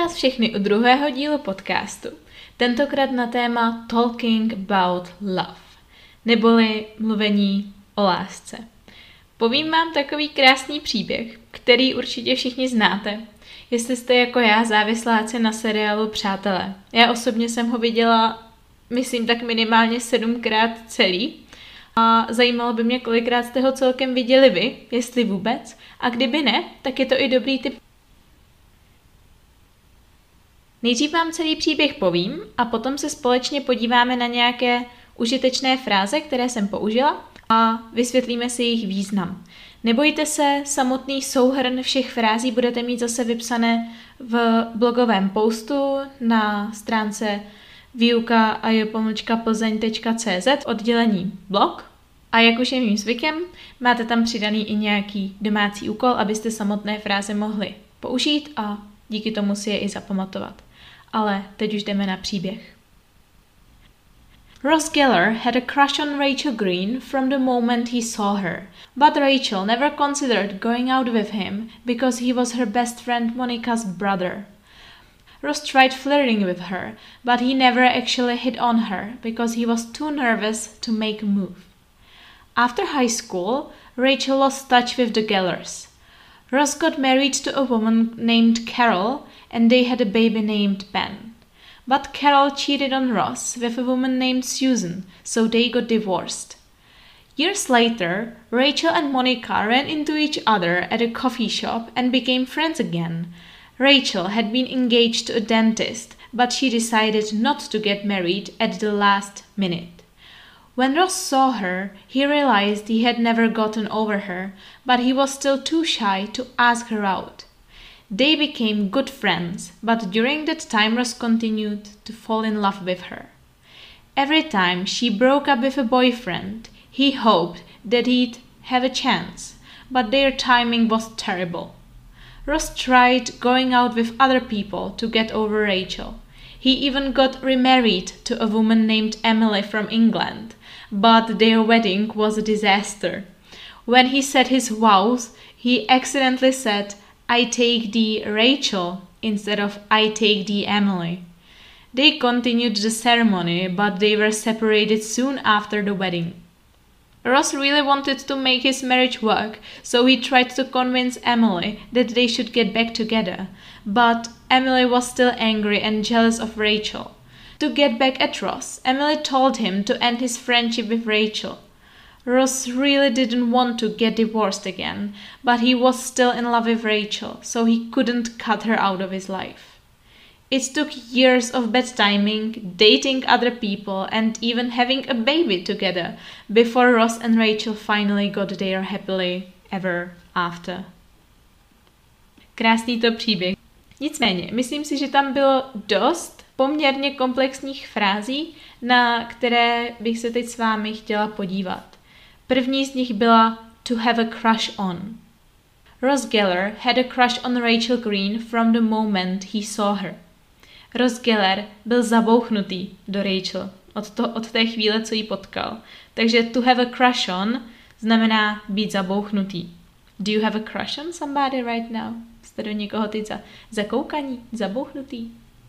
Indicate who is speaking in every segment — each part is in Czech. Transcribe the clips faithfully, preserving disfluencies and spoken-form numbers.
Speaker 1: vás všechny u druhého dílu podcastu, tentokrát na téma Talking about Love, neboli mluvení o lásce. Povím vám takový krásný příběh, který určitě všichni znáte, jestli jste jako já závisláci na seriálu Přátelé. Já osobně jsem ho viděla, myslím tak minimálně sedmkrát celý a zajímalo by mě, kolikrát jste ho celkem viděli vy, jestli vůbec, a kdyby ne, tak je to i dobrý tip. Nejdřív vám celý příběh povím a potom se společně podíváme na nějaké užitečné fráze, které jsem použila a vysvětlíme si jejich význam. Nebojte se, samotný souhrn všech frází budete mít zase vypsané v blogovém postu na stránce výuka a jo pomlčka plzeň tečka cé zet oddělení blog. A jak už je mým zvykem, máte tam přidaný i nějaký domácí úkol, abyste samotné fráze mohli použít a díky tomu si je i zapamatovat. Ale teď už jdeme na příběh. Ross Geller had a crush on Rachel Green from the moment he saw her, but Rachel never considered going out with him because he was her best friend Monica's brother. Ross tried flirting with her, but he never actually hit on her because he was too nervous to make a move. After high school, Rachel lost touch with the Gellers. Ross got married to a woman named Carol and they had a baby named Ben. But Carol cheated on Ross with a woman named Susan, so they got divorced. Years later, Rachel and Monica ran into each other at a coffee shop and became friends again. Rachel had been engaged to a dentist, but she decided not to get married at the last minute. When Ross saw her, he realized he had never gotten over her, but he was still too shy to ask her out. They became good friends, but during that time Ross continued to fall in love with her. Every time she broke up with a boyfriend, he hoped that he'd have a chance, but their timing was terrible. Ross tried going out with other people to get over Rachel. He even got remarried to a woman named Emily from England, but their wedding was a disaster. When he said his vows, he accidentally said, "I take thee Rachel" instead of "I take thee Emily." They continued the ceremony, but they were separated soon after the wedding. Ross really wanted to make his marriage work, so he tried to convince Emily that they should get back together, but Emily was still angry and jealous of Rachel. To get back at Ross, Emily told him to end his friendship with Rachel. Ross really didn't want to get divorced again, but he was still in love with Rachel, so he couldn't cut her out of his life. It took years of bad timing, dating other people, and even having a baby together before Ross and Rachel finally got their happily ever after. Krásný to příběh. Nicméně, myslím si, že tam bylo dost poměrně komplexních frází, na které bych se teď s vámi chtěla podívat. První z nich byla to have a crush on. Ross Geller had a crush on Rachel Green from the moment he saw her. Ross Geller byl zabouchnutý do Rachel od, to, od té chvíle, co ji potkal. Takže to have a crush on znamená být zabouchnutý. Do you have a crush on somebody right now? Jste do někoho teď za, zakoukaní, zabouchnutý?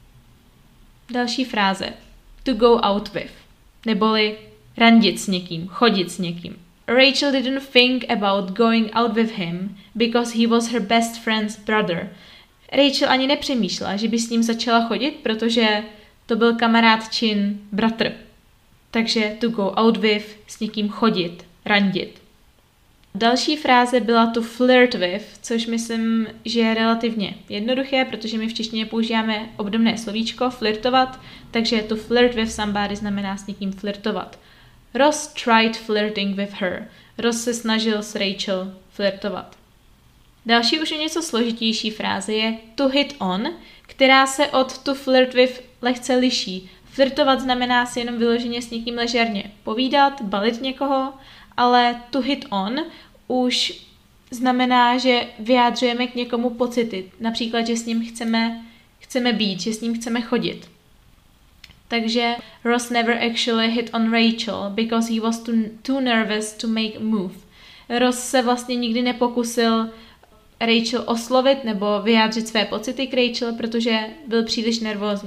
Speaker 1: Další fráze. To go out with. Neboli randit s někým, chodit s někým. Rachel didn't think about going out with him because he was her best friend's brother. Rachel ani nepřemýšlela, že by s ním začala chodit, protože to byl kamarád čin bratr. Takže to go out with, s někým chodit, randit. Další fráze byla to flirt with, což myslím, že je relativně jednoduché, protože my v češtině používáme obdobné slovíčko flirtovat, takže to flirt with somebody znamená s někým flirtovat. Ross tried flirting with her. Ross se snažil s Rachel flirtovat. Další už je něco složitější fráze je to hit on, která se od to flirt with lehce liší. Flirtovat znamená si jenom vyloženě s někým ležerně povídat, balit někoho, ale to hit on už znamená, že vyjádřujeme k někomu pocity. Například, že s ním chceme, chceme být, že s ním chceme chodit. Takže Ross never actually hit on Rachel because he was too, too nervous to make a move. Ross se vlastně nikdy nepokusil Rachel oslovit nebo vyjádřit své pocity k Rachel, protože byl příliš nervózní.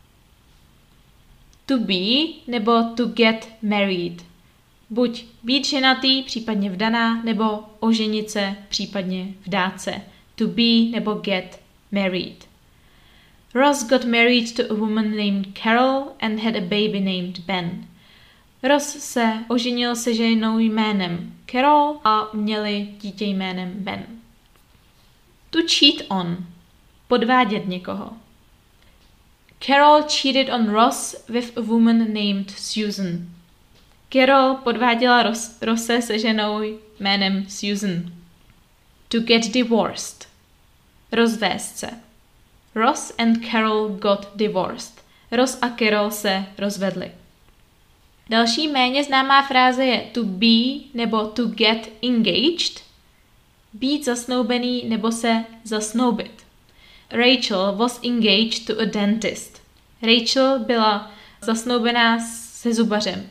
Speaker 1: To be nebo to get married. Buď být ženatý, případně vdaná, nebo oženit se, případně vdát se. To be nebo get married. Ross got married to a woman named Carol and had a baby named Ben. Ross se oženil se ženou jménem Carol a měli dítě jménem Ben. To cheat on. Podvádět někoho. Carol cheated on Ross with a woman named Susan. Carol podváděla Ross, Rosse se ženou jménem Susan. To get divorced. Rozvést se. Ross and Carol got divorced. Ross a Carol se rozvedli. Další méně známá fráze je to be nebo to get engaged. Být zasnoubený nebo se zasnoubit. Rachel was engaged to a dentist. Rachel byla zasnoubená se zubařem.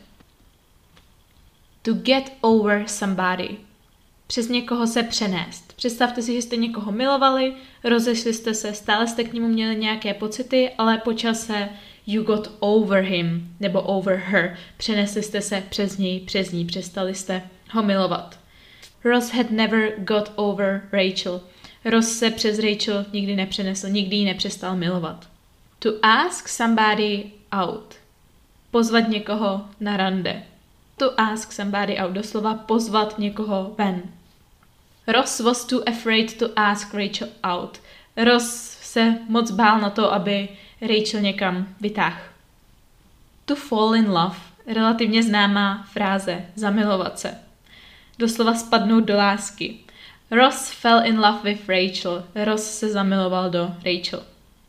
Speaker 1: To get over somebody. Přes někoho se přenést. Představte si, že jste někoho milovali, rozešli jste se, stále jste k němu měli nějaké pocity, ale po čase you got over him, nebo over her. Přenesli jste se přes něj, přes ní, přestali jste ho milovat. Ross had never got over Rachel. Ross se přes Rachel nikdy nepřenesl, nikdy ji nepřestal milovat. To ask somebody out. Pozvat někoho na rande. To ask somebody out, doslova pozvat někoho ven. Ross was too afraid to ask Rachel out. Ross se moc bál na to, aby Rachel někam vytáhl. To fall in love, relativně známá fráze, zamilovat se. Doslova spadnout do lásky. Ross fell in love with Rachel. Ross se zamiloval do Rachel.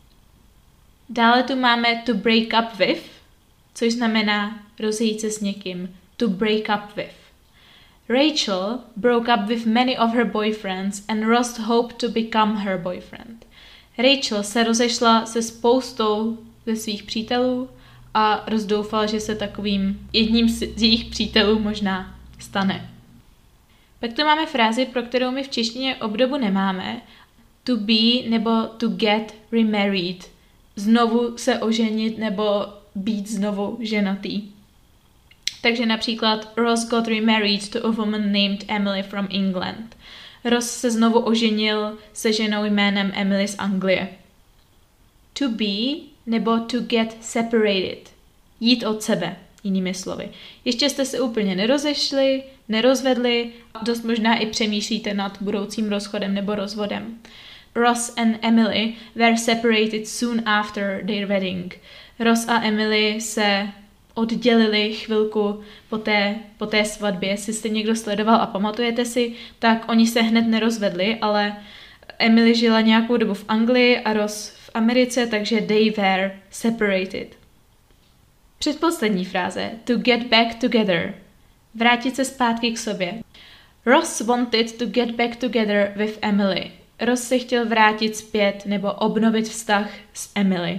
Speaker 1: Dále tu máme to break up with, což znamená rozejít se s někým. To break up with. Rachel broke up with many of her boyfriends and Ross hoped to become her boyfriend. Rachel se rozešla se spoustou ze svých přítelů a Ross doufal, že se takovým jedním z jejich přítelů možná stane. Pak tu máme frázi, pro kterou my v češtině obdobu nemáme. To be nebo to get remarried. Znovu se oženit nebo být znovu ženatý. Takže například Ross got remarried to a woman named Emily from England. Ross se znovu oženil se ženou jménem Emily z Anglie. To be nebo to get separated. Jít od sebe, jinými slovy. Ještě jste se úplně nerozešli, nerozvedli, dost možná i přemýšlíte nad budoucím rozchodem nebo rozvodem. Ross and Emily were separated soon after their wedding. Ross a Emily se oddělili chvilku po té, po té svatbě. Jestli jste někdo sledoval a pamatujete si, tak oni se hned nerozvedli, ale Emily žila nějakou dobu v Anglii a Ross v Americe, takže they were separated. Předposlední fráze. To get back together. Vrátit se zpátky k sobě. Ross wanted to get back together with Emily. Ross se chtěl vrátit zpět nebo obnovit vztah s Emily.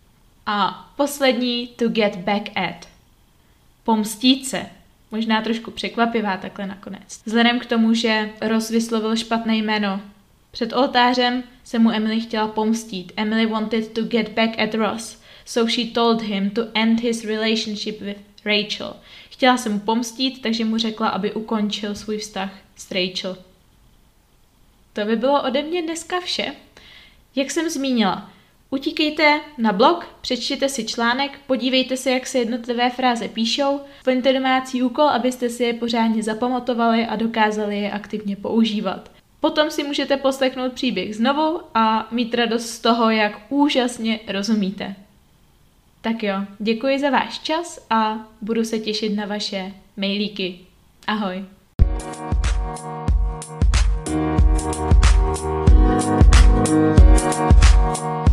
Speaker 1: A poslední to get back at. Pomstít se. Možná trošku překvapivá takhle nakonec. Vzhledem k tomu, že Ross vyslovil špatné jméno před oltářem, se mu Emily chtěla pomstít. Emily wanted to get back at Ross, so she told him to end his relationship with Rachel. Chtěla se mu pomstít, takže mu řekla, aby ukončil svůj vztah s Rachel. To by bylo ode mě dneska vše. Jak jsem zmínila, utíkejte na blog, přečtěte si článek, podívejte se, jak se jednotlivé fráze píšou, splňte domácí úkol, abyste si je pořádně zapamatovali a dokázali je aktivně používat. Potom si můžete poslechnout příběh znovu a mít radost z toho, jak úžasně rozumíte. Tak jo, děkuji za váš čas a budu se těšit na vaše mailíky. Ahoj. Thank you.